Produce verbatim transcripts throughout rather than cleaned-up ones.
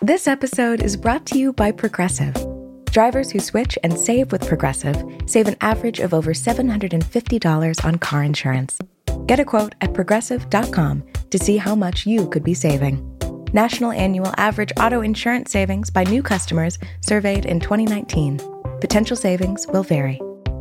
This episode is brought to you by Progressive. Drivers who switch and save with Progressive save an average of over seven hundred fifty dollars on car insurance. Get a quote at progressive dot com to see how much you could be saving. National annual average auto insurance savings by new customers surveyed in twenty nineteen. Potential savings will vary.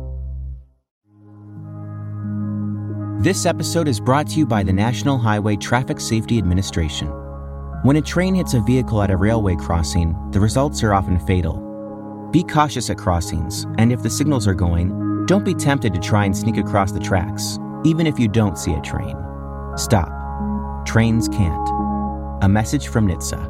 This episode is brought to you by the National Highway Traffic Safety Administration. When a train hits a vehicle at a railway crossing, the results are often fatal. Be cautious at crossings, and if the signals are going, don't be tempted to try and sneak across the tracks, even if you don't see a train. Stop. Trains can't. A message from N H T S A.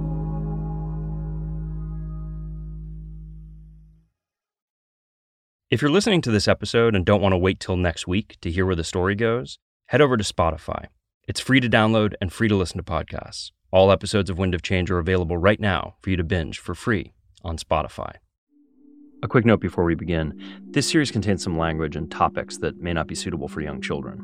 If you're listening to this episode and don't want to wait till next week to hear where the story goes, head over to Spotify. It's free to download and free to listen to podcasts. All episodes of Wind of Change are available right now for you to binge for free on Spotify. A quick note before we begin. This series contains some language and topics that may not be suitable for young children.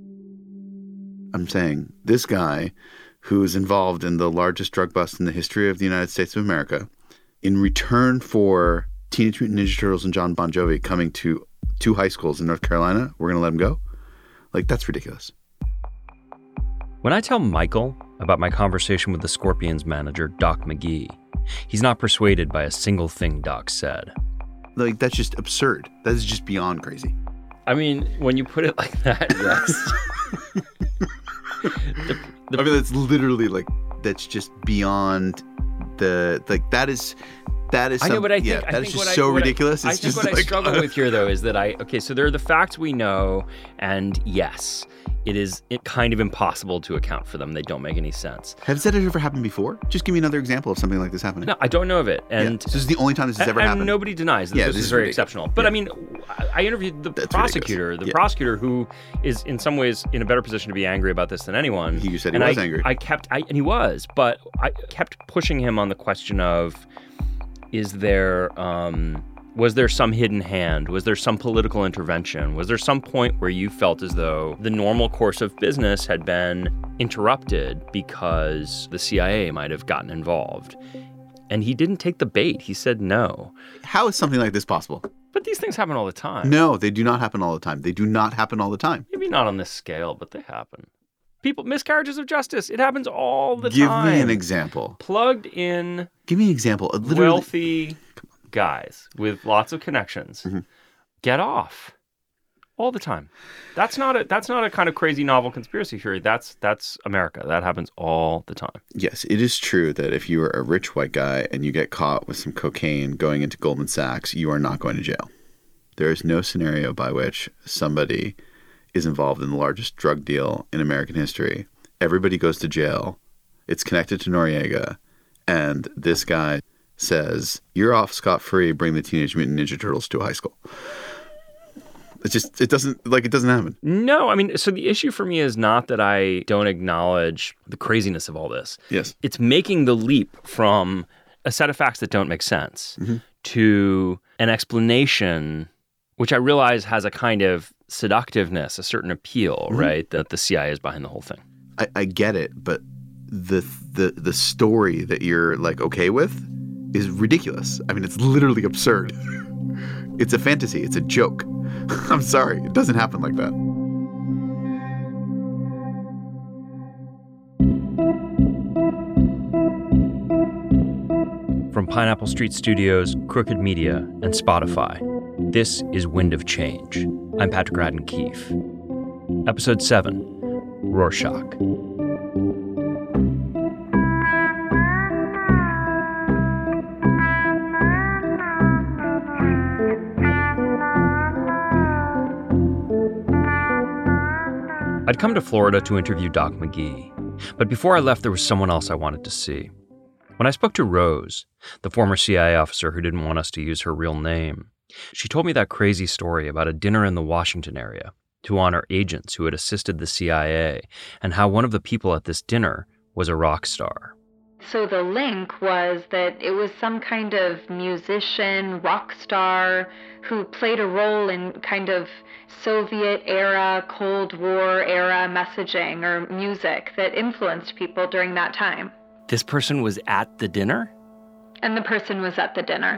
I'm saying this guy who's involved in the largest drug bust in the history of the United States of America, in return for Teenage Mutant Ninja Turtles and John Bon Jovi coming to two high schools in North Carolina, we're going to let him go? Like, that's ridiculous. When I tell Michael about my conversation with the Scorpions manager, Doc McGee, he's not persuaded by a single thing Doc said. Like, that's just absurd. That is just beyond crazy. I mean, when you put it like that, yes. the, the, I mean, that's literally like, that's just beyond the, like, that is, that is, some, I know, but I think, yeah, I that think is just what so I, what ridiculous. I, It's I think just what like, I struggle with here, though, is that I, okay, so there are the facts we know, and yes, it is it kind of impossible to account for them. They don't make any sense. Has that ever happened before? Just give me another example of something like this happening. No, I don't know of it. And yeah. So this is the only time this has ever and happened. Nobody denies that yeah, this, this is, is very ridiculous. exceptional. But yeah. I mean, I interviewed the That's prosecutor, ridiculous. the yeah. prosecutor who is in some ways in a better position to be angry about this than anyone. He said he and was I, angry. I kept, I, and he was, but I kept pushing him on the question of, is there, um, was there some hidden hand? Was there some political intervention? Was there some point where you felt as though the normal course of business had been interrupted because the C I A might have gotten involved? And he didn't take the bait. He said no. How is something like this possible? But these things happen all the time. No, they do not happen all the time. They do not happen all the time. Maybe not on this scale, but they happen. People, miscarriages of justice. It happens all the Give time. me an example. Plugged in, Give me an example. Uh, Literally. wealthy guys with lots of connections Mm-hmm. get off all the time. That's not a that's not a kind of crazy novel conspiracy theory. That's that's America. That happens all the time. Yes, it is true that if you are a rich white guy and you get caught with some cocaine going into Goldman Sachs, you are not going to jail. There is no scenario by which somebody is involved in the largest drug deal in American history. Everybody goes to jail. It's connected to Noriega. And this guy says, you're off scot-free, bring the Teenage Mutant Ninja Turtles to a high school. It just, it doesn't, like, it doesn't happen. No, I mean, so the issue for me is not that I don't acknowledge the craziness of all this. Yes. It's making the leap from a set of facts that don't make sense Mm-hmm. to an explanation, which I realize has a kind of seductiveness, a certain appeal, Mm-hmm. right? That the C I A is behind the whole thing. I, I get it, but the the the story that you're like okay with is ridiculous. I mean, it's literally absurd. It's a fantasy. It's a joke. I'm sorry. It doesn't happen like that. From Pineapple Street Studios, Crooked Media, and Spotify, this is Wind of Change. I'm Patrick Radden Keefe. Episode seven, Rorschach. I'd come to Florida to interview Doc McGee, but before I left, there was someone else I wanted to see. When I spoke to Rose, the former C I A officer who didn't want us to use her real name, she told me that crazy story about a dinner in the Washington area to honor agents who had assisted the C I A, and how one of the people at this dinner was a rock star. So the link was that it was some kind of musician, rock star, who played a role in kind of Soviet-era, Cold War-era messaging or music that influenced people during that time. This person was at the dinner? And the person was at the dinner.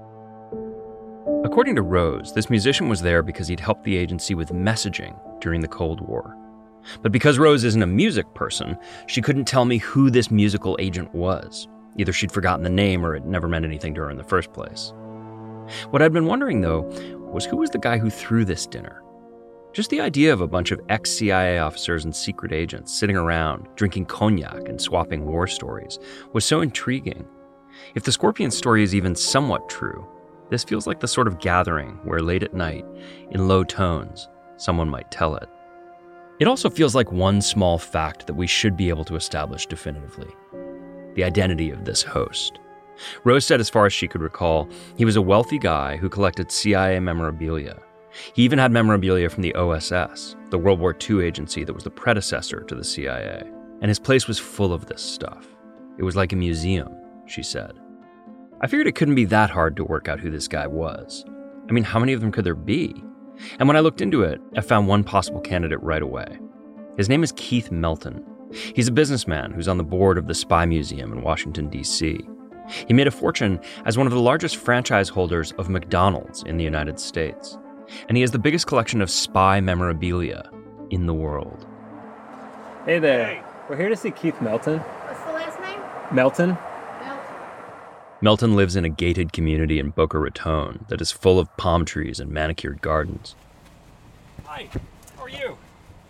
According to Rose, this musician was there because he'd helped the agency with messaging during the Cold War. But because Rose isn't a music person, she couldn't tell me who this musical agent was. Either she'd forgotten the name or it never meant anything to her in the first place. What I'd been wondering, though, was who was the guy who threw this dinner? Just the idea of a bunch of ex-C I A officers and secret agents sitting around, drinking cognac and swapping war stories was so intriguing. If the Scorpion story is even somewhat true, this feels like the sort of gathering where late at night, in low tones, someone might tell it. It also feels like one small fact that we should be able to establish definitively: the identity of this host. Rose said as far as she could recall, he was a wealthy guy who collected C I A memorabilia. He even had memorabilia from the O S S, the World War Two agency that was the predecessor to the C I A. And his place was full of this stuff. It was like a museum, she said. I figured it couldn't be that hard to work out who this guy was. I mean, how many of them could there be? And when I looked into it, I found one possible candidate right away. His name is Keith Melton. He's a businessman who's on the board of the Spy Museum in Washington, D C. He made a fortune as one of the largest franchise holders of McDonald's in the United States. And he has the biggest collection of spy memorabilia in the world. Hey there. Hey. We're here to see Keith Melton. What's the last name? Melton. Melton. Melton lives in a gated community in Boca Raton that is full of palm trees and manicured gardens. Hi, how are you?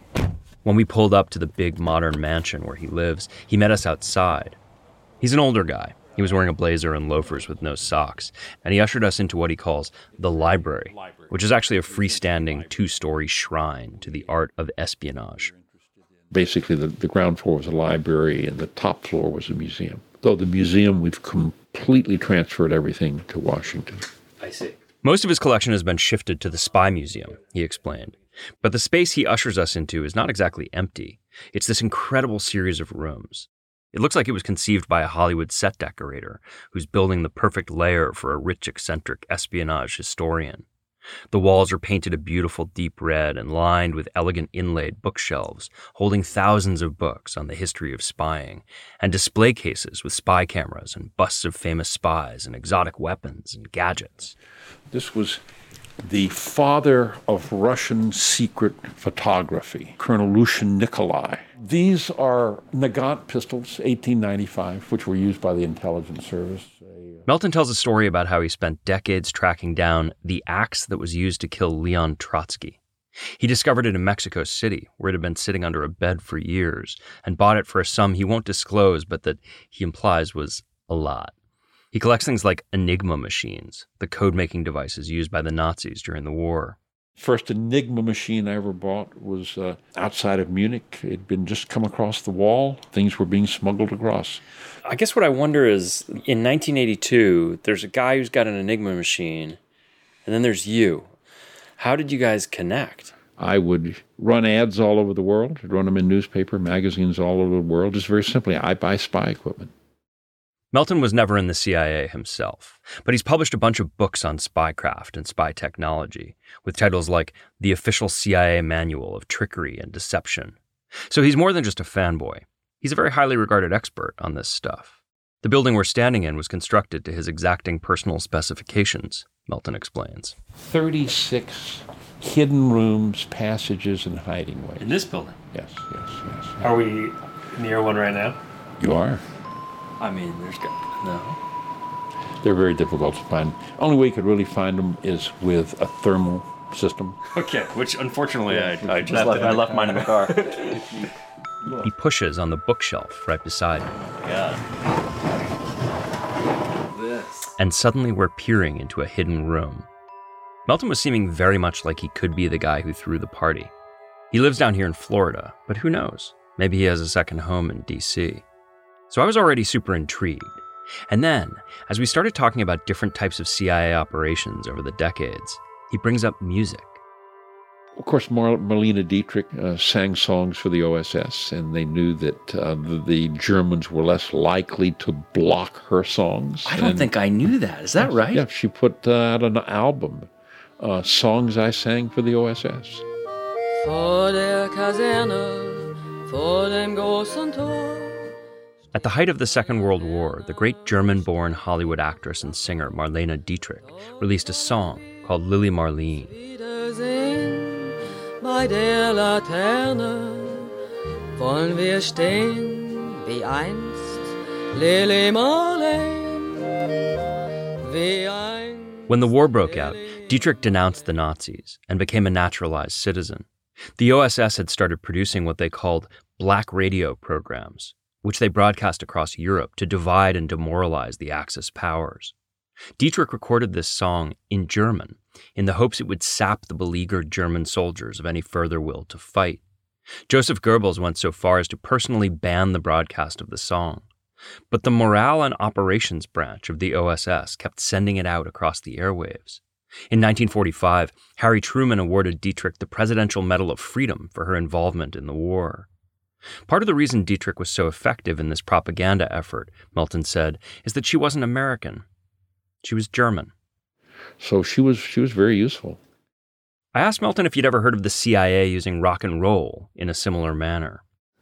When we pulled up to the big modern mansion where he lives, he met us outside. He's an older guy. He was wearing a blazer and loafers with no socks, and he ushered us into what he calls the library, which is actually a freestanding two-story shrine to the art of espionage. Basically, the, the ground floor was a library and the top floor was a museum. Though the museum, we've completely transferred everything to Washington. I see. Most of his collection has been shifted to the Spy Museum, he explained. But the space he ushers us into is not exactly empty. It's this incredible series of rooms. It looks like it was conceived by a Hollywood set decorator who's building the perfect lair for a rich, eccentric espionage historian. The walls are painted a beautiful deep red and lined with elegant inlaid bookshelves holding thousands of books on the history of spying, and display cases with spy cameras and busts of famous spies and exotic weapons and gadgets. This was the father of Russian secret photography, Colonel Lushin Nikolai. These are Nagant pistols, eighteen ninety-five, which were used by the intelligence service. Melton tells a story about how he spent decades tracking down the axe that was used to kill Leon Trotsky. He discovered it in Mexico City, where it had been sitting under a bed for years, and bought it for a sum he won't disclose, but that he implies was a lot. He collects things like Enigma machines, the code-making devices used by the Nazis during the war. First Enigma machine I ever bought was uh, outside of Munich. It had been just come across the wall. Things were being smuggled across. I guess what I wonder is, in nineteen eighty-two, there's a guy who's got an Enigma machine, and then there's you. How did you guys connect? I would run ads all over the world. I'd run them in newspaper, magazines all over the world. Just very simply, I buy spy equipment. Melton was never in the C I A himself, but he's published a bunch of books on spycraft and spy technology, with titles like The Official C I A Manual of Trickery and Deception. So he's more than just a fanboy. He's a very highly regarded expert on this stuff. The building we're standing in was constructed to his exacting personal specifications, Melton explains. thirty-six hidden rooms, passages, and hiding ways. In this building? Yes, yes, yes. Are we near one right now? You are. I mean, there's got no. They're very difficult to find. Only way you could really find them is with a thermal system. Okay, which unfortunately yeah, I, I just left, I left mine in the car. He pushes on the bookshelf right beside him. Oh my God. This. And suddenly we're peering into a hidden room. Melton was seeming very much like he could be the guy who threw the party. He lives down here in Florida, but who knows? Maybe he has a second home in D C. So I was already super intrigued. And then, as we started talking about different types of C I A operations over the decades, he brings up music. Of course, Mar- Marlene Dietrich uh, sang songs for the O S S, and they knew that uh, the, the Germans were less likely to block her songs. I don't and, think I knew that. Is that right? Yeah, she put uh, out an album, uh, Songs I Sang for the O S S. Vor der Kaserne, vor dem großen Tor. At the height of the Second World War, the great German-born Hollywood actress and singer Marlene Dietrich released a song called Lili Marleen. Bei der Laterne wollen wir stehen wie einst Lili Marleen, wie ein. When the war broke out, Dietrich denounced the Nazis and became a naturalized citizen. The O S S had started producing what they called black radio programs, which they broadcast across Europe to divide and demoralize the Axis powers. Dietrich recorded this song in German in the hopes it would sap the beleaguered German soldiers of any further will to fight. Joseph Goebbels went so far as to personally ban the broadcast of the song. But the Morale and Operations branch of the O S S kept sending it out across the airwaves. In nineteen forty-five, Harry Truman awarded Dietrich the Presidential Medal of Freedom for her involvement in the war. Part of the reason Dietrich was so effective in this propaganda effort, Melton said, is that she wasn't American. She was German. So she was she was very useful. I asked Melton if he'd ever heard of the C I A using rock and roll in a similar manner.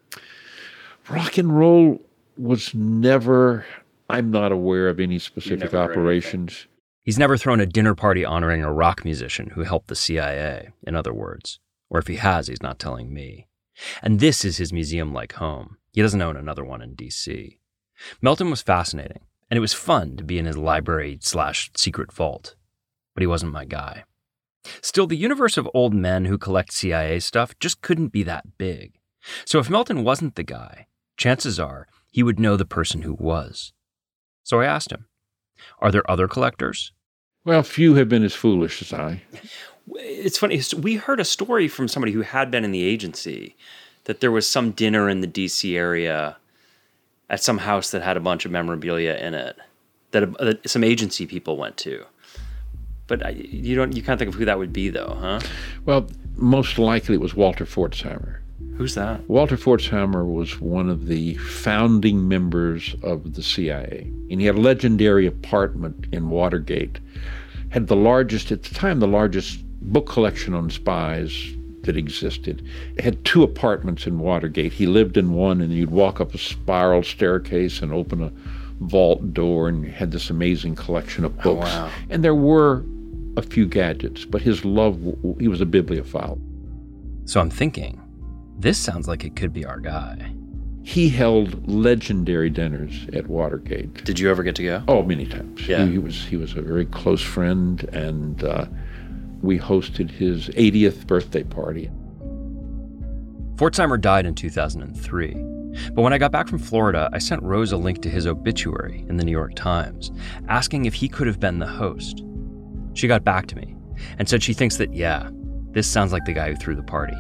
Rock and roll was never, I'm not aware of any specific operations. He's never thrown a dinner party honoring a rock musician who helped the C I A, in other words. Or if he has, he's not telling me. And this is his museum-like home. He doesn't own another one in D C. Melton was fascinating, and it was fun to be in his library slash secret vault. But he wasn't my guy. Still, the universe of old men who collect C I A stuff just couldn't be that big. So if Melton wasn't the guy, chances are he would know the person who was. So I asked him, are there other collectors? Well, few have been as foolish as I. It's funny, we heard a story from somebody who had been in the agency that there was some dinner in the D C area at some house that had a bunch of memorabilia in it that, a, that some agency people went to. But I, you don't, you can't think of who that would be, though, huh? Well, most likely it was Walter Pforzheimer. Who's that? Walter Pforzheimer was one of the founding members of the C I A, and he had a legendary apartment in Watergate. Had the largest, at the time, the largest book collection on spies that existed. It had two apartments in Watergate. He lived in one, and you'd walk up a spiral staircase and open a vault door, and had this amazing collection of books. Oh, wow. And there were a few gadgets, but his love, he was a bibliophile. So I'm thinking, this sounds like it could be our guy. He held legendary dinners at Watergate. Did you ever get to go? Oh, many times. Yeah. He, he was he was a very close friend, and uh, we hosted his eightieth birthday party. Pforzheimer died in two thousand three. But when I got back from Florida, I sent Rose a link to his obituary in the New York Times, asking if he could have been the host. She got back to me and said she thinks that, yeah, this sounds like the guy who threw the party.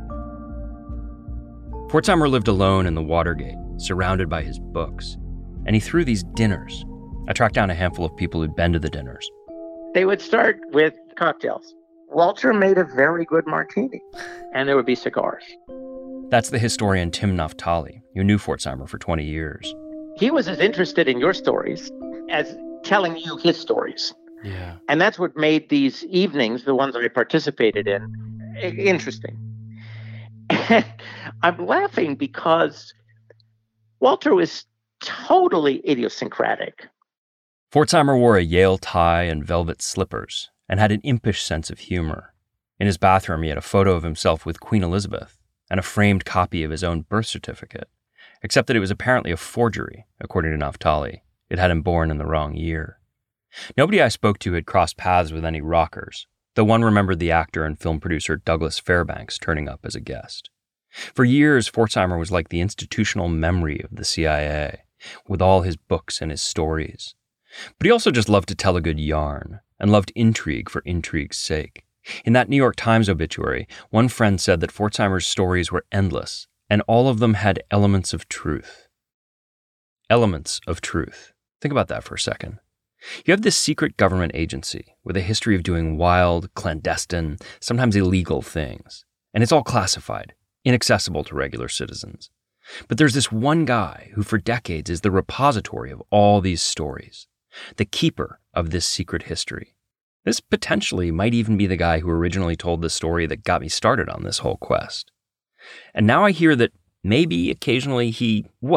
Pforzheimer lived alone in the Watergate, surrounded by his books, and he threw these dinners. I tracked down a handful of people who'd been to the dinners. They would start with cocktails. Walter made a very good martini, and there would be cigars. That's the historian Tim Naftali, who knew Pforzheimer for twenty years. He was as interested in your stories as telling you his stories. Yeah. And that's what made these evenings, the ones I participated in, interesting. And I'm laughing because Walter was totally idiosyncratic. Pforzheimer wore a Yale tie and velvet slippers and had an impish sense of humor. In his bathroom, he had a photo of himself with Queen Elizabeth and a framed copy of his own birth certificate, except that it was apparently a forgery, according to Naftali. It had him born in the wrong year. Nobody I spoke to had crossed paths with any rockers, though one remembered the actor and film producer Douglas Fairbanks turning up as a guest. For years, Pforzheimer was like the institutional memory of the C I A, with all his books and his stories. But he also just loved to tell a good yarn, and loved intrigue for intrigue's sake. In that New York Times obituary, one friend said that Pforzheimer's stories were endless, and all of them had elements of truth. Elements of truth. Think about that for a second. You have this secret government agency with a history of doing wild, clandestine, sometimes illegal things, and it's all classified, inaccessible to regular citizens. But there's this one guy who for decades is the repository of all these stories, the keeper of this secret history. This potentially might even be the guy who originally told the story that got me started on this whole quest. And now I hear that maybe occasionally he, what,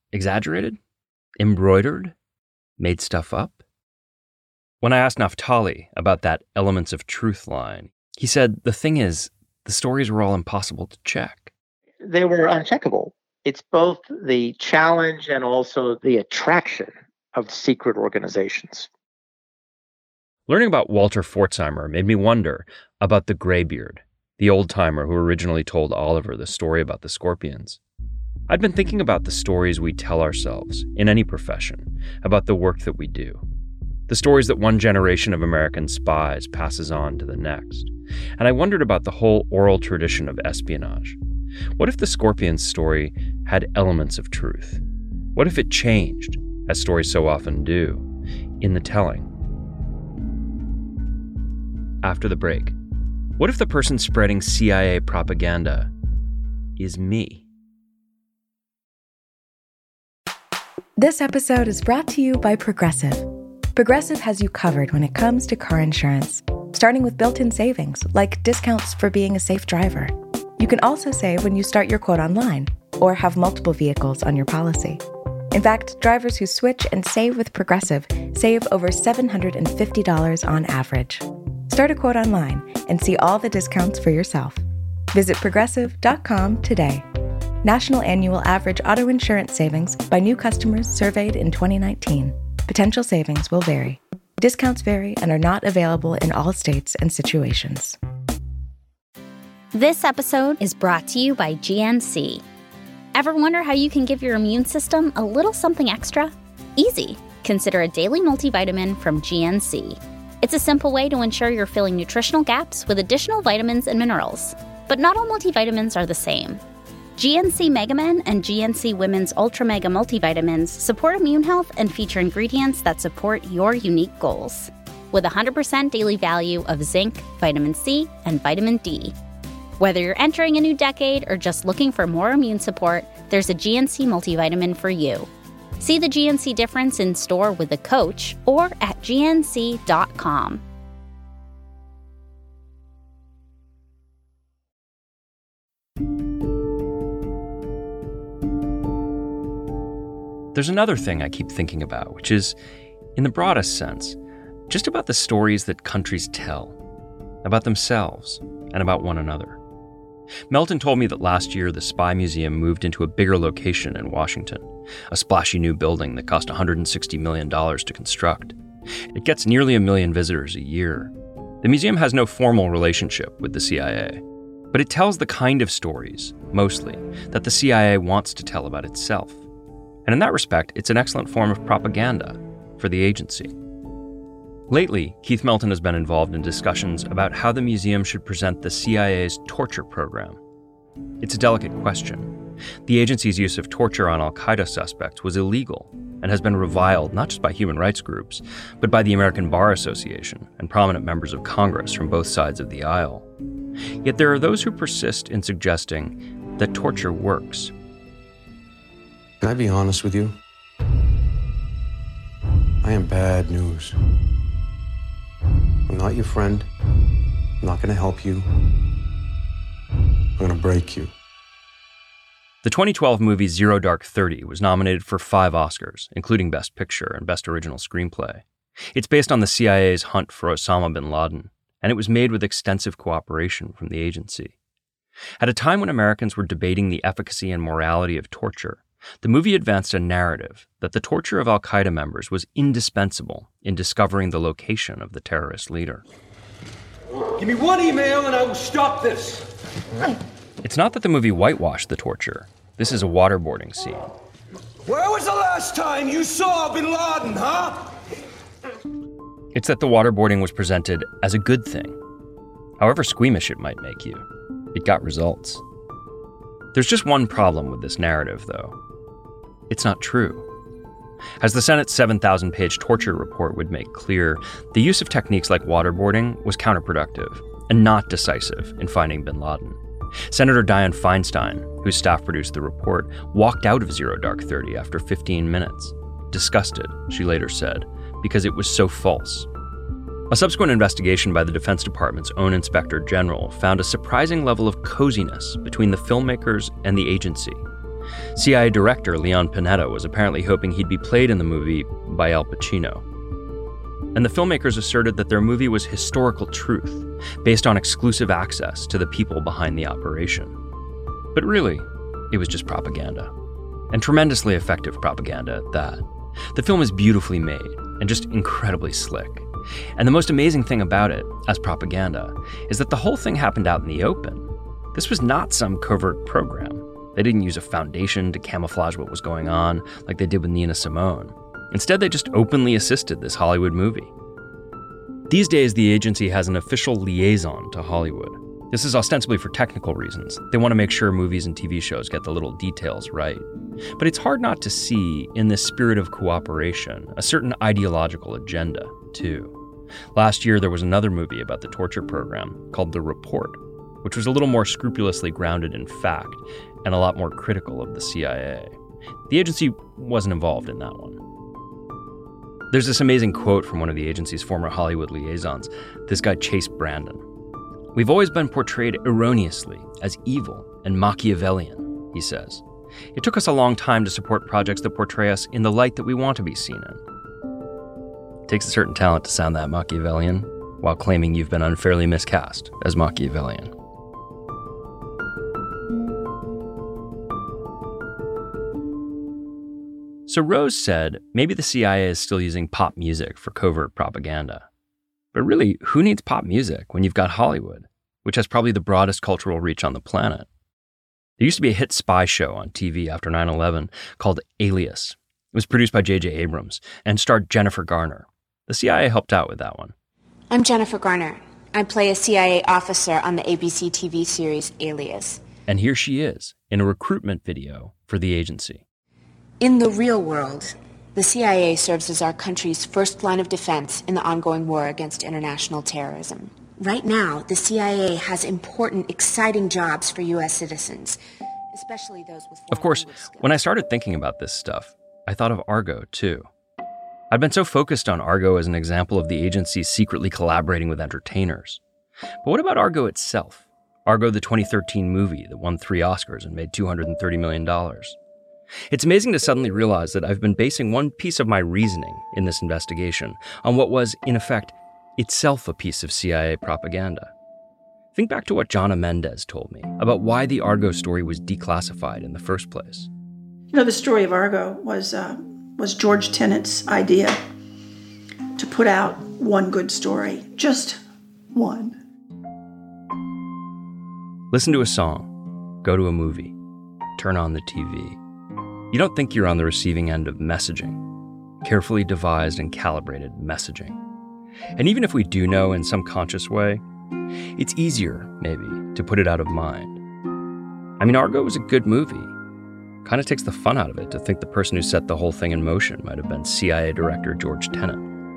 Exaggerated? Embroidered? Made stuff up? When I asked Naftali about that elements of truth line, he said the thing is, the stories were all impossible to check. They were uncheckable. It's both the challenge and also the attraction of secret organizations. Learning about Walter Pforzheimer made me wonder about the Greybeard, the old-timer who originally told Oliver the story about the Scorpions. I'd been thinking about the stories we tell ourselves, in any profession, about the work that we do. The stories that one generation of American spies passes on to the next. And I wondered about the whole oral tradition of espionage. What if the Scorpions story had elements of truth? What if it changed, as stories so often do, in the telling? After the break, what if the person spreading C I A propaganda is me? This episode is brought to you by Progressive. Progressive has you covered when it comes to car insurance, starting with built-in savings, like discounts for being a safe driver. You can also save when you start your quote online or have multiple vehicles on your policy. In fact, drivers who switch and save with Progressive save over seven hundred fifty dollars on average. Start a quote online and see all the discounts for yourself. Visit progressive dot com today. National annual average auto insurance savings by new customers surveyed in twenty nineteen. Potential savings will vary. Discounts vary and are not available in all states and situations. This episode is brought to you by G N C. Ever wonder how you can give your immune system a little something extra? Easy. Consider a daily multivitamin from G N C. It's a simple way to ensure you're filling nutritional gaps with additional vitamins and minerals. But not all multivitamins are the same. G N C Megamen and G N C Women's Ultra Mega Multivitamins support immune health and feature ingredients that support your unique goals. With one hundred percent daily value of zinc, vitamin C, and vitamin D. Whether you're entering a new decade or just looking for more immune support, there's a G N C multivitamin for you. See the G N C difference in store with a coach or at G N C dot com. There's another thing I keep thinking about, which is, in the broadest sense, just about the stories that countries tell, about themselves and about one another. Melton told me that last year the Spy Museum moved into a bigger location in Washington, a splashy new building that cost one hundred sixty million dollars to construct. It gets nearly a million visitors a year. The museum has no formal relationship with the C I A, but it tells the kind of stories, mostly, that the C I A wants to tell about itself. And in that respect, it's an excellent form of propaganda for the agency. Lately, Keith Melton has been involved in discussions about how the museum should present the C I A's torture program. It's a delicate question. The agency's use of torture on al-Qaeda suspects was illegal and has been reviled not just by human rights groups, but by the American Bar Association and prominent members of Congress from both sides of the aisle. Yet there are those who persist in suggesting that torture works. Can I be honest with you? I am bad news. I'm not your friend. I'm not going to help you. I'm going to break you. The twenty twelve movie Zero Dark Thirty was nominated for five Oscars, including Best Picture and Best Original Screenplay. It's based on the C I A's hunt for Osama bin Laden, and it was made with extensive cooperation from the agency. At a time when Americans were debating the efficacy and morality of torture, the movie advanced a narrative that the torture of al-Qaeda members was indispensable in discovering the location of the terrorist leader. Give me one email and I will stop this. It's not that the movie whitewashed the torture. This is a waterboarding scene. Where was the last time you saw bin Laden, huh? It's that the waterboarding was presented as a good thing. However squeamish it might make you, it got results. There's just one problem with this narrative, though. It's not true. As the Senate's seven thousand page torture report would make clear, the use of techniques like waterboarding was counterproductive and not decisive in finding bin Laden. Senator Dianne Feinstein, whose staff produced the report, walked out of Zero Dark Thirty after fifteen minutes. Disgusted, she later said, because it was so false. A subsequent investigation by the Defense Department's own Inspector General found a surprising level of coziness between the filmmakers and the agency. C I A director Leon Panetta was apparently hoping he'd be played in the movie by Al Pacino. And the filmmakers asserted that their movie was historical truth, based on exclusive access to the people behind the operation. But really, it was just propaganda. And tremendously effective propaganda at that. The film is beautifully made and just incredibly slick. And the most amazing thing about it, as propaganda, is that the whole thing happened out in the open. This was not some covert program. They didn't use a foundation to camouflage what was going on like they did with Nina Simone. Instead, they just openly assisted this Hollywood movie. These days, the agency has an official liaison to Hollywood. This is ostensibly for technical reasons. They want to make sure movies and T V shows get the little details right. But it's hard not to see, in this spirit of cooperation, a certain ideological agenda, too. Last year, there was another movie about the torture program called The Report, which was a little more scrupulously grounded in fact and a lot more critical of the C I A. The agency wasn't involved in that one. There's this amazing quote from one of the agency's former Hollywood liaisons, this guy Chase Brandon. "We've always been portrayed erroneously as evil and Machiavellian," he says. "It took us a long time to support projects that portray us in the light that we want to be seen in." It takes a certain talent to sound that Machiavellian while claiming you've been unfairly miscast as Machiavellian. So Rose said maybe the C I A is still using pop music for covert propaganda. But really, who needs pop music when you've got Hollywood, which has probably the broadest cultural reach on the planet? There used to be a hit spy show on T V after nine eleven called Alias. It was produced by J J Abrams and starred Jennifer Garner. The C I A helped out with that one. I'm Jennifer Garner. I play a C I A officer on the A B C T V series Alias. And here she is in a recruitment video for the agency. In the real world, the C I A serves as our country's first line of defense in the ongoing war against international terrorism. Right now, the C I A has important, exciting jobs for U S citizens, especially those with... Of course, when I started thinking about this stuff, I thought of Argo, too. I'd been so focused on Argo as an example of the agency secretly collaborating with entertainers. But what about Argo itself? Argo, the twenty thirteen movie that won three Oscars and made two hundred thirty million dollars. It's amazing to suddenly realize that I've been basing one piece of my reasoning in this investigation on what was, in effect, itself a piece of C I A propaganda. Think back to what Jana Mendez told me about why the Argo story was declassified in the first place. You know, the story of Argo was uh, was George Tenet's idea to put out one good story, just one. Listen to a song, go to a movie, turn on the T V. You don't think you're on the receiving end of messaging, carefully devised and calibrated messaging. And even if we do know in some conscious way, it's easier, maybe, to put it out of mind. I mean, Argo was a good movie. Kind of takes the fun out of it to think the person who set the whole thing in motion might have been C I A director George Tenet.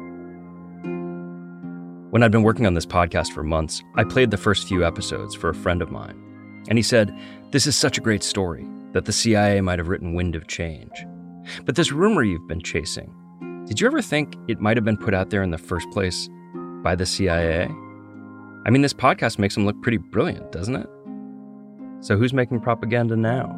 When I'd been working on this podcast for months, I played the first few episodes for a friend of mine. And he said, "This is such a great story that the C I A might have written Wind of Change. But this rumor you've been chasing, did you ever think it might have been put out there in the first place by the C I A? I mean, this podcast makes them look pretty brilliant, doesn't it? So who's making propaganda now?"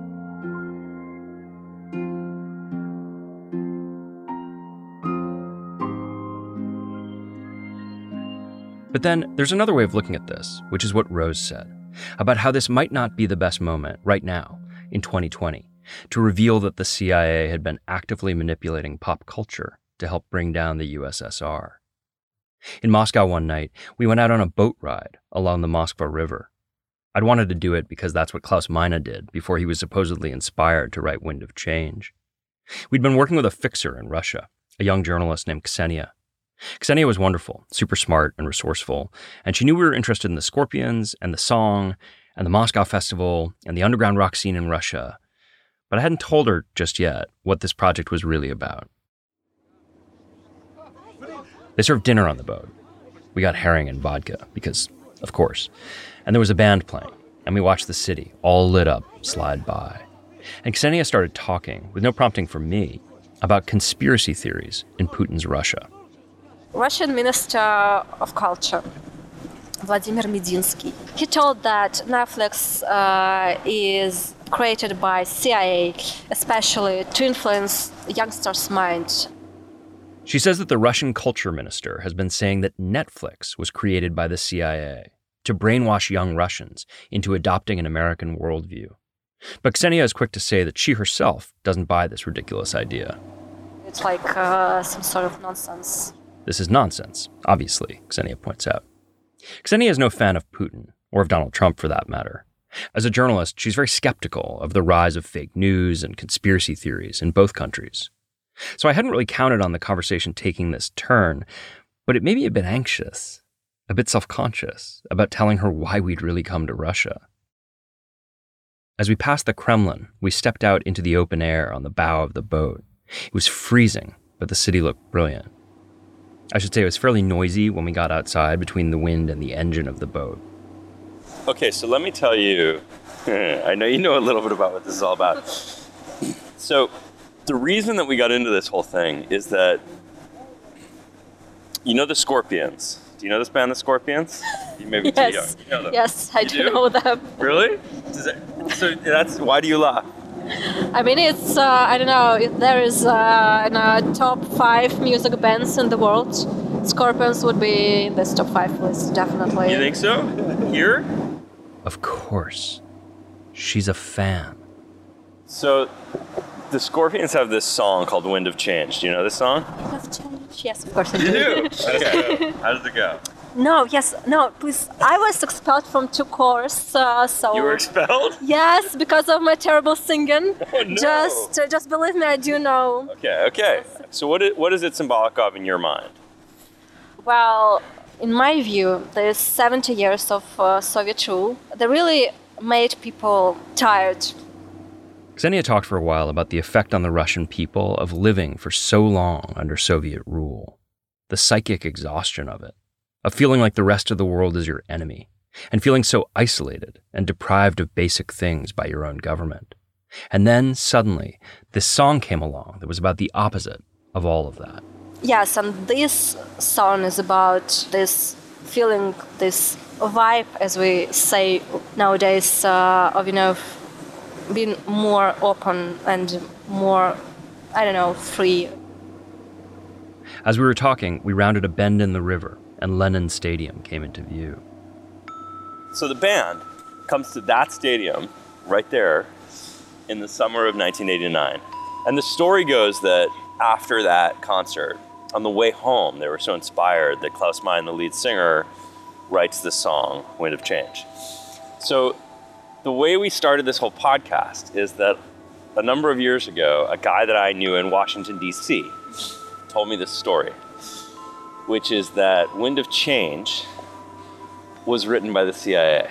But then there's another way of looking at this, which is what Rose said, about how this might not be the best moment right now, in twenty twenty, to reveal that the C I A had been actively manipulating pop culture to help bring down the U S S R. In Moscow one night, we went out on a boat ride along the Moskva River. I'd wanted to do it because that's what Klaus Meine did before he was supposedly inspired to write Wind of Change. We'd been working with a fixer in Russia, a young journalist named Ksenia. Ksenia was wonderful, super smart and resourceful, and she knew we were interested in the Scorpions and the song and the Moscow Festival and the underground rock scene in Russia. But I hadn't told her just yet what this project was really about. They served dinner on the boat. We got herring and vodka, because, of course. And there was a band playing, and we watched the city, all lit up, slide by. And Ksenia started talking, with no prompting from me, about conspiracy theories in Putin's Russia. Russian Minister of Culture, Vladimir Medinsky, he told that Netflix uh, is created by C I A, especially to influence youngsters' minds. She says that the Russian culture minister has been saying that Netflix was created by the C I A to brainwash young Russians into adopting an American worldview. But Ksenia is quick to say that she herself doesn't buy this ridiculous idea. It's like uh, some sort of nonsense. This is nonsense, obviously, Ksenia points out. Ksenia is no fan of Putin, or of Donald Trump for that matter. As a journalist, she's very skeptical of the rise of fake news and conspiracy theories in both countries. So I hadn't really counted on the conversation taking this turn, but it made me a bit anxious, a bit self-conscious about telling her why we'd really come to Russia. As we passed the Kremlin, we stepped out into the open air on the bow of the boat. It was freezing, but the city looked brilliant. I should say it was fairly noisy when we got outside between the wind and the engine of the boat. Okay, so let me tell you, I know you know a little bit about what this is all about. So the reason that we got into this whole thing is that, you know the Scorpions. Do you know this band, the Scorpions? You may be Yes, too young. You know them. yes, I You do do? know them. Really? Does that, so that's, why do you laugh? I mean, it's, uh, I don't know, if there is uh, in a top five music bands in the world, Scorpions would be in this top five list, definitely. You think so? Here? Of course. She's a fan. So the Scorpions have this song called Wind of Change. Do you know this song? Wind of Change? Yes, of course I You do. do? Okay. How does it go? No, yes, no, please. I was expelled from two courses, uh, so... You were expelled? Yes, because of my terrible singing. Oh, no. Just, uh, just believe me, I do know. Okay, okay. So what is, what is it symbolic of in your mind? Well, in my view, there's seventy years of uh, Soviet rule. They really made people tired. Ksenia talked for a while about the effect on the Russian people of living for so long under Soviet rule, the psychic exhaustion of it, of feeling like the rest of the world is your enemy, and feeling so isolated and deprived of basic things by your own government. And then, suddenly, this song came along that was about the opposite of all of that. Yes, and this song is about this feeling, this vibe, as we say nowadays, uh, of, you know, being more open and more, I don't know, free. As we were talking, we rounded a bend in the river, and Lenin Stadium came into view. So the band comes to that stadium right there in the summer of nineteen eighty-nine. And the story goes that after that concert, on the way home, they were so inspired that Klaus Meine, the lead singer, writes this song, Wind of Change. So the way we started this whole podcast is that a number of years ago, a guy that I knew in Washington, D C told me this story, which is that Wind of Change was written by the C I A.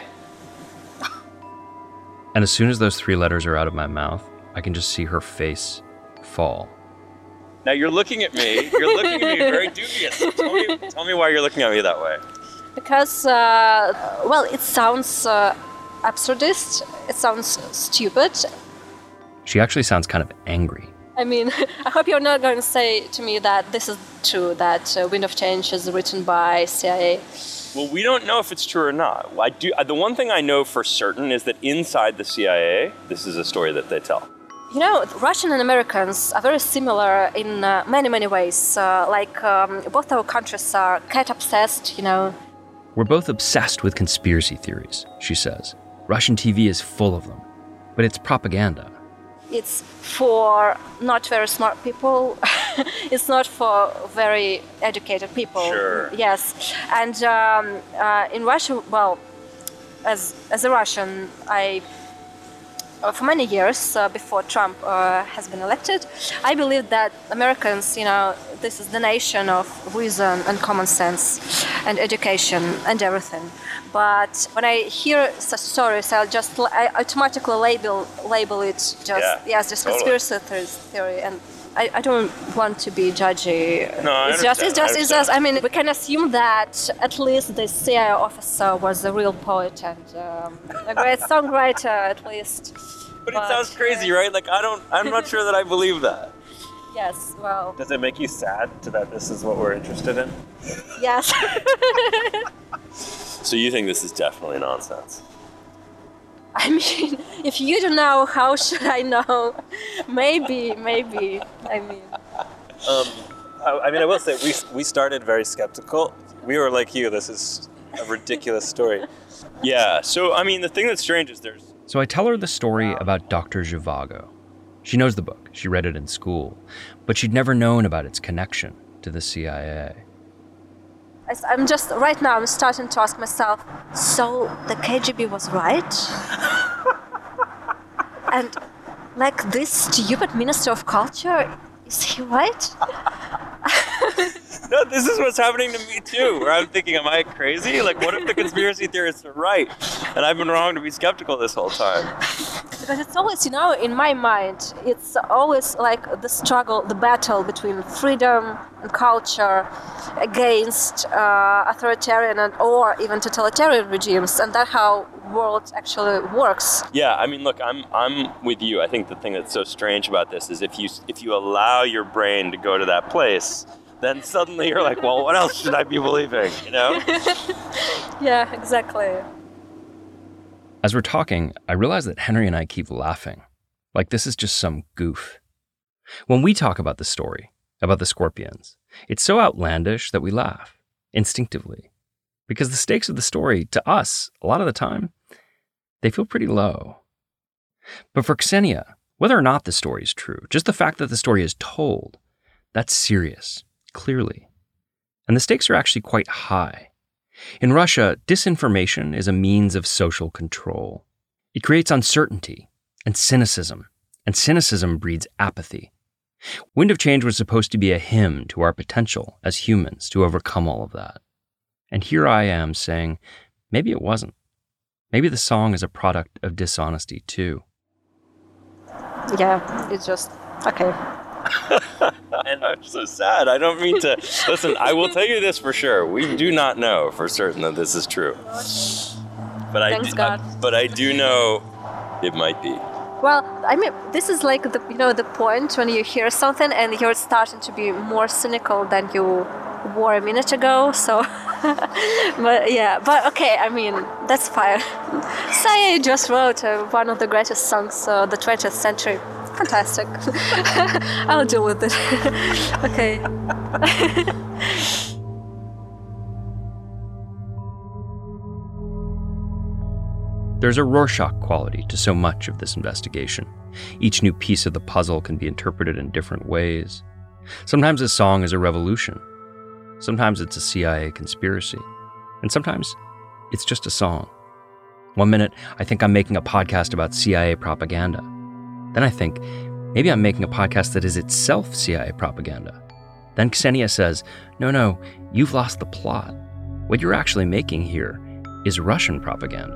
And as soon as those three letters are out of my mouth, I can just see her face fall. Now you're looking at me, you're looking at me very dubious. Tell me, tell me why you're looking at me that way. Because, uh, well, it sounds uh, absurdist, it sounds stupid. She actually sounds kind of angry. I mean, I hope you're not going to say to me that this is true, that uh, Wind of Change is written by C I A. Well, we don't know if it's true or not. I do. The one thing I know for certain is that inside the C I A, this is a story that they tell. You know, Russian and Americans are very similar in uh, many, many ways. Uh, like, um, both our countries are cat obsessed, you know. We're both obsessed with conspiracy theories, she says. Russian T V is full of them, but it's propaganda. It's for not very smart people. It's not for very educated people. Sure. Yes. And um, uh, in Russia, well, as as a Russian, I, uh, for many years uh, before Trump uh, has been elected, I believed that Americans, you know, this is the nation of reason and common sense and education and everything. But when I hear such stories, I'll just I automatically label label it just Yeah, yes, just totally. conspiracy theory, and I, I don't want to be judgy. No, I it's just it's understand, I just it's just I mean we can assume that at least the C I A officer was a real poet and um, a great songwriter at least. But it sounds crazy, right? Like, I don't, I'm not sure that I believe that. Yes, well, Does it make you sad to that this is what we're interested in? yes. So you think this is definitely nonsense? I mean, if you don't know, how should I know? Maybe, maybe. I mean. Um, I, I mean, I will say we we started very skeptical. We were like you. This is a ridiculous story. Yeah. So I mean, the thing that's strange is there's. So I tell her the story about Doctor Zhivago. She knows the book. She read it in school, but she'd never known about its connection to the C I A. I'm just, right now, I'm starting to ask myself, so the K G B was right? And, like, this stupid Minister of Culture, is he right? No, this is what's happening to me too, where I'm thinking, am I crazy? Like, what if the conspiracy theorists are right? And I've been wrong to be skeptical this whole time. Because it's always, you know, in my mind, it's always like the struggle, the battle between freedom and culture against uh, authoritarian and or even totalitarian regimes, and that's how world actually works. Yeah, I mean, look, I'm I'm with you. I think the thing that's so strange about this is if you if you allow your brain to go to that place, then suddenly you're like, well, what else should I be believing, you know? Yeah, exactly. As we're talking, I realize that Henry and I keep laughing, like this is just some goof. When we talk about the story, about the Scorpions, it's so outlandish that we laugh, instinctively. Because the stakes of the story, to us, a lot of the time, they feel pretty low. But for Ksenia, whether or not the story is true, just the fact that the story is told, that's serious, clearly. And the stakes are actually quite high. In Russia, disinformation is a means of social control. It creates uncertainty and cynicism, and cynicism breeds apathy. Wind of Change was supposed to be a hymn to our potential as humans to overcome all of that. And here I am saying, maybe it wasn't. Maybe the song is a product of dishonesty too. Yeah, it's just, okay. And I'm so sad. I don't mean to. Listen, I will tell you this for sure. We do not know for certain that this is true. But I, Thanks do, God. I, but I do know it might be. Well, I mean, this is like the you know the point when you hear something and you're starting to be more cynical than you were a minute ago. So, but yeah, but okay. I mean, that's fine. S I A just wrote uh, one of the greatest songs of uh, the twentieth century. Fantastic. I'll deal with it. Okay. There's a Rorschach quality to so much of this investigation. Each new piece of the puzzle can be interpreted in different ways. Sometimes a song is a revolution. Sometimes it's a C I A conspiracy. And sometimes it's just a song. One minute, I think I'm making a podcast about C I A propaganda. Then I think, maybe I'm making a podcast that is itself C I A propaganda. Then Ksenia says, no, no, you've lost the plot. What you're actually making here is Russian propaganda.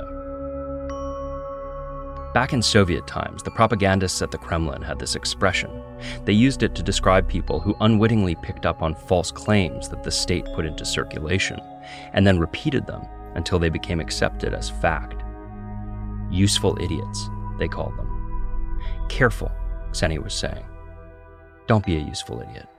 Back in Soviet times, the propagandists at the Kremlin had this expression. They used it to describe people who unwittingly picked up on false claims that the state put into circulation, and then repeated them until they became accepted as fact. Useful idiots, they called them. Careful, Ksenia was saying. Don't be a useful idiot.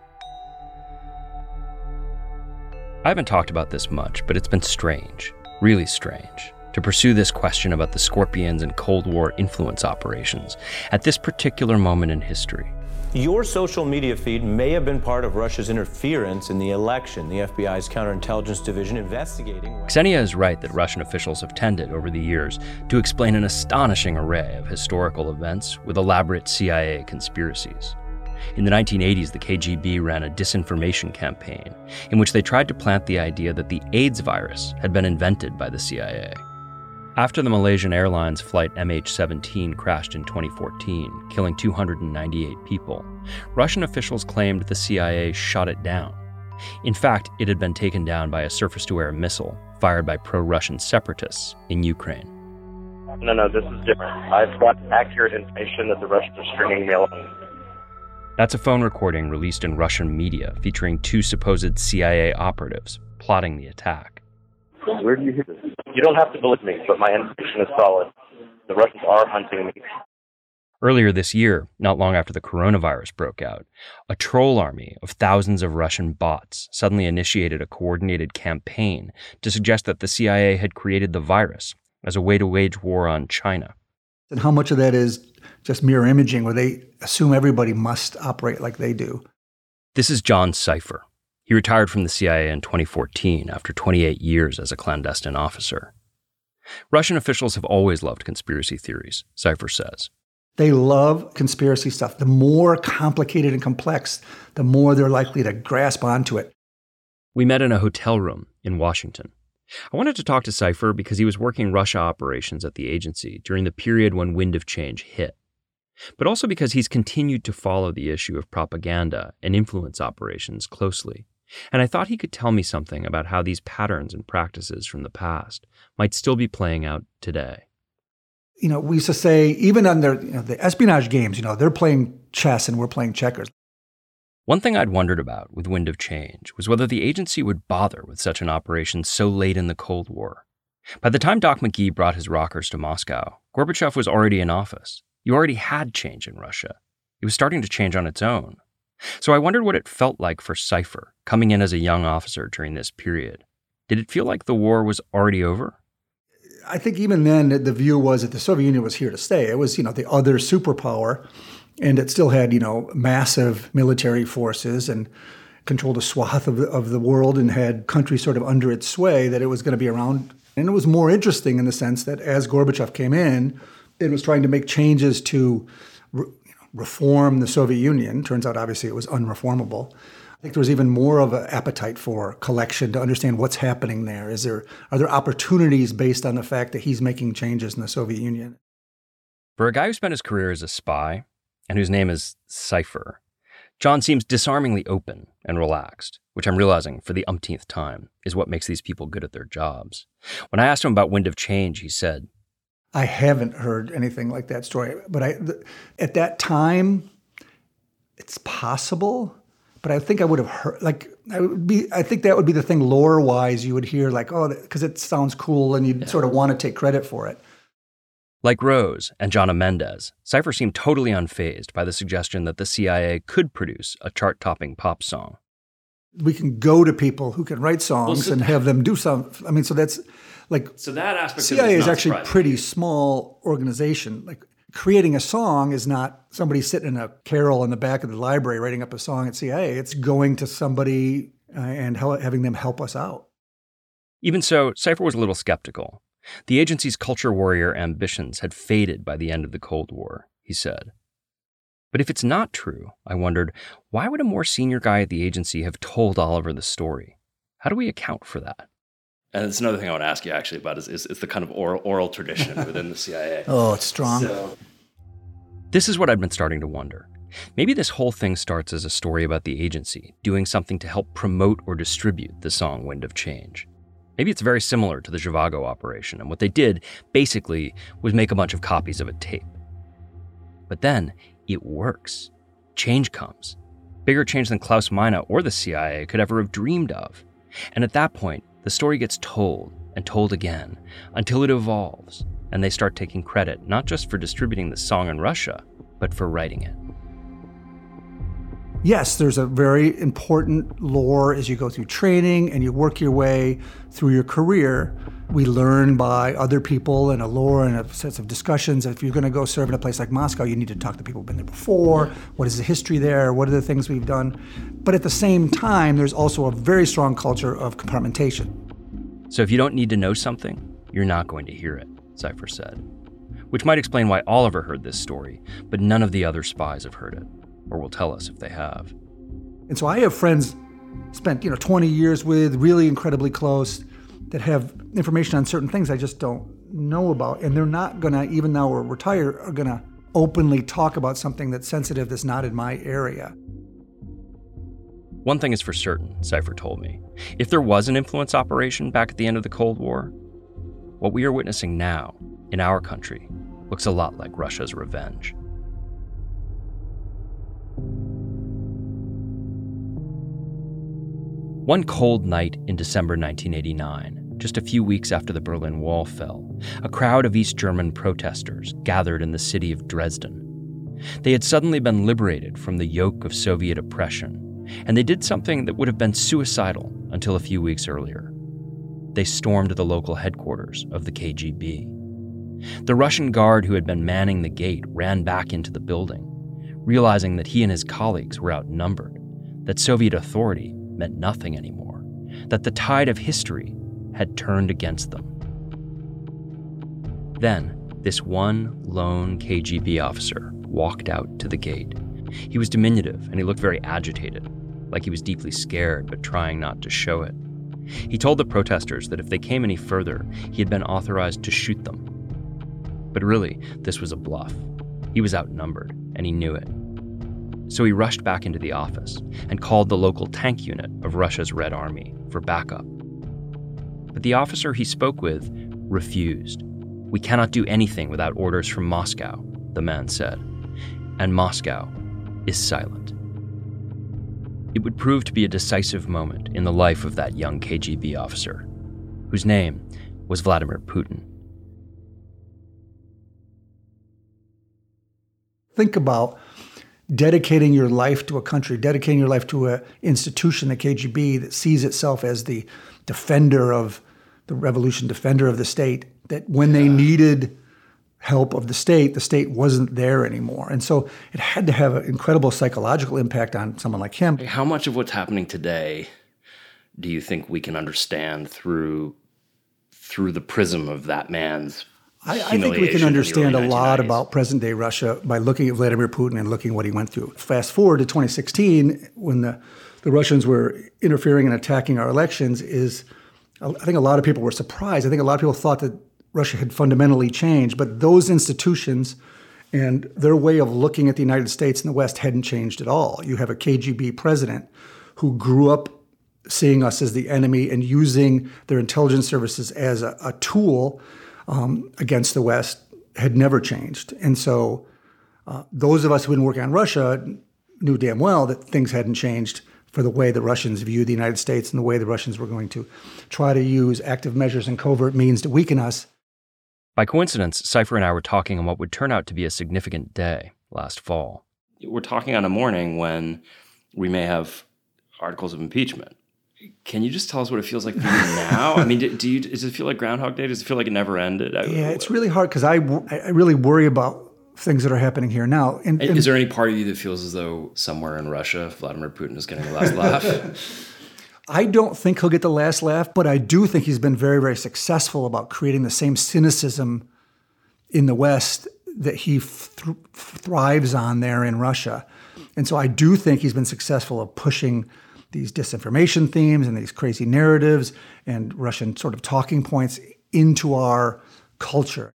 I haven't talked about this much, but it's been strange, really strange, to pursue this question about the Scorpions and Cold War influence operations at this particular moment in history. Your social media feed may have been part of Russia's interference in the election. The F B I's counterintelligence division investigating... Ksenia is right that Russian officials have tended over the years to explain an astonishing array of historical events with elaborate C I A conspiracies. In the nineteen eighties, the K G B ran a disinformation campaign in which they tried to plant the idea that the AIDS virus had been invented by the C I A. After the Malaysian Airlines flight M H seventeen crashed in twenty fourteen, killing two hundred ninety-eight people, Russian officials claimed the C I A shot it down. In fact, it had been taken down by a surface-to-air missile fired by pro-Russian separatists in Ukraine. No, no, this is different. I've got accurate information that the Russians are stringing me along. That's a phone recording released in Russian media featuring two supposed C I A operatives plotting the attack. Where do you hear this? You don't have to believe me, but my information is solid. The Russians are hunting me. Earlier this year, not long after the coronavirus broke out, a troll army of thousands of Russian bots suddenly initiated a coordinated campaign to suggest that the C I A had created the virus as a way to wage war on China And how much of that is just mirror imaging, where they assume everybody must operate like they do? This is John Sipher. He retired from the C I A in twenty fourteen after twenty-eight years as a clandestine officer. Russian officials have always loved conspiracy theories, Sipher says. They love conspiracy stuff. The more complicated and complex, the more they're likely to grasp onto it. We met in a hotel room in Washington. I wanted to talk to Sipher because he was working Russia operations at the agency during the period when Wind of Change hit, but also because he's continued to follow the issue of propaganda and influence operations closely. And I thought he could tell me something about how these patterns and practices from the past might still be playing out today. You know, we used to say, even on their, you know, the espionage games, you know, they're playing chess and we're playing checkers. One thing I'd wondered about with Wind of Change was whether the agency would bother with such an operation so late in the Cold War. By the time Doc McGee brought his rockers to Moscow, Gorbachev was already in office. You already had change in Russia. It was starting to change on its own. So I wondered what it felt like for Sipher, coming in as a young officer during this period. Did it feel like the war was already over? I think even then the view was that the Soviet Union was here to stay. It was, you know, the other superpower, and it still had, you know, massive military forces and controlled a swath of the, of the world and had countries sort of under its sway, that it was going to be around. And it was more interesting in the sense that as Gorbachev came in, it was trying to make changes to re- you know, reform the Soviet Union. Turns out, obviously, it was unreformable. I think there was even more of an appetite for collection to understand what's happening there. Is there are there opportunities based on the fact that he's making changes in the Soviet Union? For a guy who spent his career as a spy, and whose name is Sipher, John seems disarmingly open and relaxed, which I'm realizing for the umpteenth time is what makes these people good at their jobs. When I asked him about Wind of Change, he said, I haven't heard anything like that story, but I, th- at that time, it's possible. But I think I would have heard, like, I would be. I think that would be the thing lore-wise you would hear, like, oh, because it sounds cool, and you'd yeah. sort of want to take credit for it. Like Rose and Jana Mendez, Sipher seemed totally unfazed by the suggestion that the C I A could produce a chart-topping pop song. We can go to people who can write songs well, so and have them do some. I mean, so that's like so that aspect. C I A of it is, is not actually a surprising. pretty small organization. Like creating a song is not somebody sitting in a carrel in the back of the library writing up a song at C I A. It's going to somebody uh, and having them help us out. Even so, Sipher was a little skeptical. The agency's culture warrior ambitions had faded by the end of the Cold War, he said. But if it's not true, I wondered, why would a more senior guy at the agency have told Oliver the story? How do we account for that? And it's another thing I want to ask you actually about is, is, is the kind of oral, oral tradition within the C I A. Oh, it's strong. So. This is what I've been starting to wonder. Maybe this whole thing starts as a story about the agency doing something to help promote or distribute the song Wind of Change. Maybe it's very similar to the Zhivago operation, and what they did, basically, was make a bunch of copies of a tape. But then, it works. Change comes. Bigger change than Klaus Meine or the C I A could ever have dreamed of. And at that point, the story gets told and told again until it evolves, and they start taking credit not just for distributing the song in Russia, but for writing it. Yes, there's a very important lore as you go through training and you work your way through your career. We learn by other people and a lore and a sense of discussions. If you're going to go serve in a place like Moscow, you need to talk to people who've been there before. What is the history there? What are the things we've done? But at the same time, there's also a very strong culture of compartmentation. So if you don't need to know something, you're not going to hear it, Sipher said. Which might explain why Oliver heard this story, but none of the other spies have heard it, or will tell us if they have. And so I have friends spent, you know, twenty years with, really incredibly close, that have information on certain things I just don't know about. And they're not gonna, even now we're retired, are gonna openly talk about something that's sensitive that's not in my area. One thing is for certain, Sipher told me. If there was an influence operation back at the end of the Cold War, what we are witnessing now, in our country, looks a lot like Russia's revenge. One cold night in December nineteen eighty-nine, just a few weeks after the Berlin Wall fell, a crowd of East German protesters gathered in the city of Dresden. They had suddenly been liberated from the yoke of Soviet oppression, and they did something that would have been suicidal until a few weeks earlier. They stormed the local headquarters of the K G B. The Russian guard who had been manning the gate ran back into the building, realizing that he and his colleagues were outnumbered, that Soviet authority meant nothing anymore, that the tide of history had turned against them. Then, this one lone K G B officer walked out to the gate. He was diminutive, and he looked very agitated, like he was deeply scared but trying not to show it. He told the protesters that if they came any further, he had been authorized to shoot them. But really, this was a bluff. He was outnumbered, and he knew it. So he rushed back into the office and called the local tank unit of Russia's Red Army for backup. But the officer he spoke with refused. "We cannot do anything without orders from Moscow," the man said. And Moscow is silent. It would prove to be a decisive moment in the life of that young K G B officer, whose name was Vladimir Putin. Think about dedicating your life to a country, dedicating your life to an institution, the K G B, that sees itself as the defender of the revolution, defender of the state, that when they needed help of the state, the state wasn't there anymore. And so it had to have an incredible psychological impact on someone like him. How much of what's happening today do you think we can understand through through the prism of that man's I, I think we can understand a lot about present-day Russia by looking at Vladimir Putin and looking at what he went through. Fast forward to twenty sixteen, when the, the Russians were interfering and attacking our elections, is I think a lot of people were surprised. I think a lot of people thought that Russia had fundamentally changed, but those institutions and their way of looking at the United States and the West hadn't changed at all. You have a K G B president who grew up seeing us as the enemy and using their intelligence services as a, a tool um, against the West had never changed. And so uh, those of us who had been working on Russia knew damn well that things hadn't changed for the way the Russians viewed the United States and the way the Russians were going to try to use active measures and covert means to weaken us. By coincidence, Cypher and I were talking on what would turn out to be a significant day last fall. We're talking on a morning when we may have articles of impeachment. Can you just tell us what it feels like for you now? I mean, do, do you, does it feel like Groundhog Day? Does it feel like it never ended? Yeah, it's really hard because I, I really worry about things that are happening here now. And, and is there any part of you that feels as though somewhere in Russia, Vladimir Putin is getting the last laugh? I don't think he'll get the last laugh, but I do think he's been very, very successful about creating the same cynicism in the West that he th- thrives on there in Russia. And so I do think he's been successful at pushing these disinformation themes and these crazy narratives and Russian sort of talking points into our culture.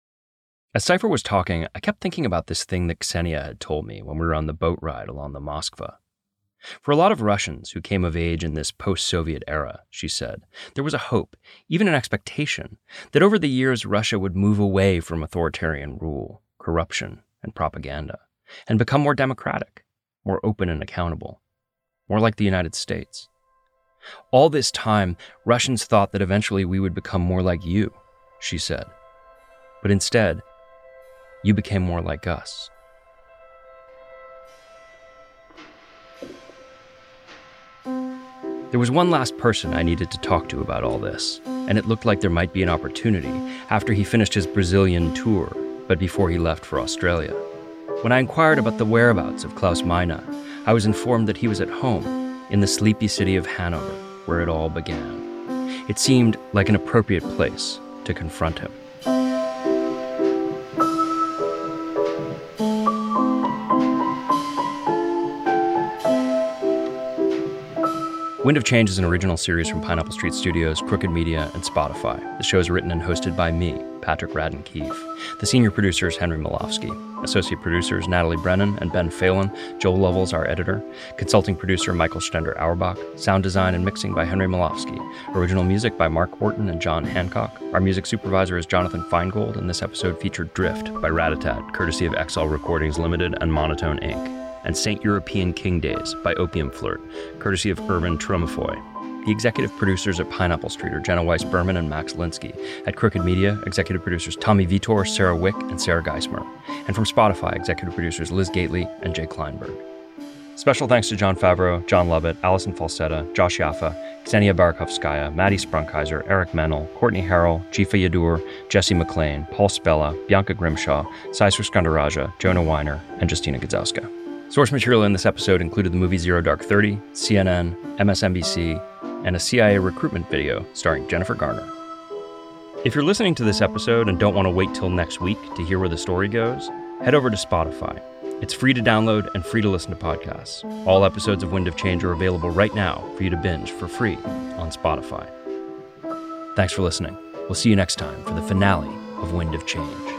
As Cypher was talking, I kept thinking about this thing that Ksenia had told me when we were on the boat ride along the Moskva. For a lot of Russians who came of age in this post-Soviet era, she said, there was a hope, even an expectation, that over the years Russia would move away from authoritarian rule, corruption, and propaganda, and become more democratic, more open and accountable, more like the United States. All this time, Russians thought that eventually we would become more like you, she said. But instead, you became more like us. There was one last person I needed to talk to about all this, and it looked like there might be an opportunity after he finished his Brazilian tour, but before he left for Australia. When I inquired about the whereabouts of Klaus Meine, I was informed that he was at home in the sleepy city of Hanover, where it all began. It seemed like an appropriate place to confront him. Wind of Change is an original series from Pineapple Street Studios, Crooked Media, and Spotify. The show is written and hosted by me, Patrick Radden Keefe. The senior producer is Henry Malofsky. Associate producers Natalie Brennan and Ben Phelan. Joel Lovell's our editor. Consulting producer Michael Stender Auerbach. Sound design and mixing by Henry Malofsky. Original music by Mark Orton and John Hancock. Our music supervisor is Jonathan Feingold, and this episode featured Drift by Ratatat, courtesy of X L Recordings Limited and Monotone Incorporated. And Saint European King Days by Opium Flirt, courtesy of Urban Tromafoy. The executive producers at Pineapple Street are Jenna Weiss Berman and Max Linsky. At Crooked Media, executive producers Tommy Vitor, Sarah Wick, and Sarah Geismer. And from Spotify, executive producers Liz Gately and Jay Kleinberg. Special thanks to Jon Favreau, John Lovett, Allison Falsetta, Josh Yaffa, Ksenia Barakovskaya, Maddie Sprunkheiser, Eric Mennel, Courtney Harrell, Jifa Yadur, Jesse McLean, Paul Spella, Bianca Grimshaw, Saiswa Skandaraja, Jonah Weiner, and Justina Gadzowska. Source material in this episode included the movie Zero Dark Thirty, C N N, M S N B C, and a C I A recruitment video starring Jennifer Garner. If you're listening to this episode and don't want to wait till next week to hear where the story goes, head over to Spotify. It's free to download and free to listen to podcasts. All episodes of Wind of Change are available right now for you to binge for free on Spotify. Thanks for listening. We'll see you next time for the finale of Wind of Change.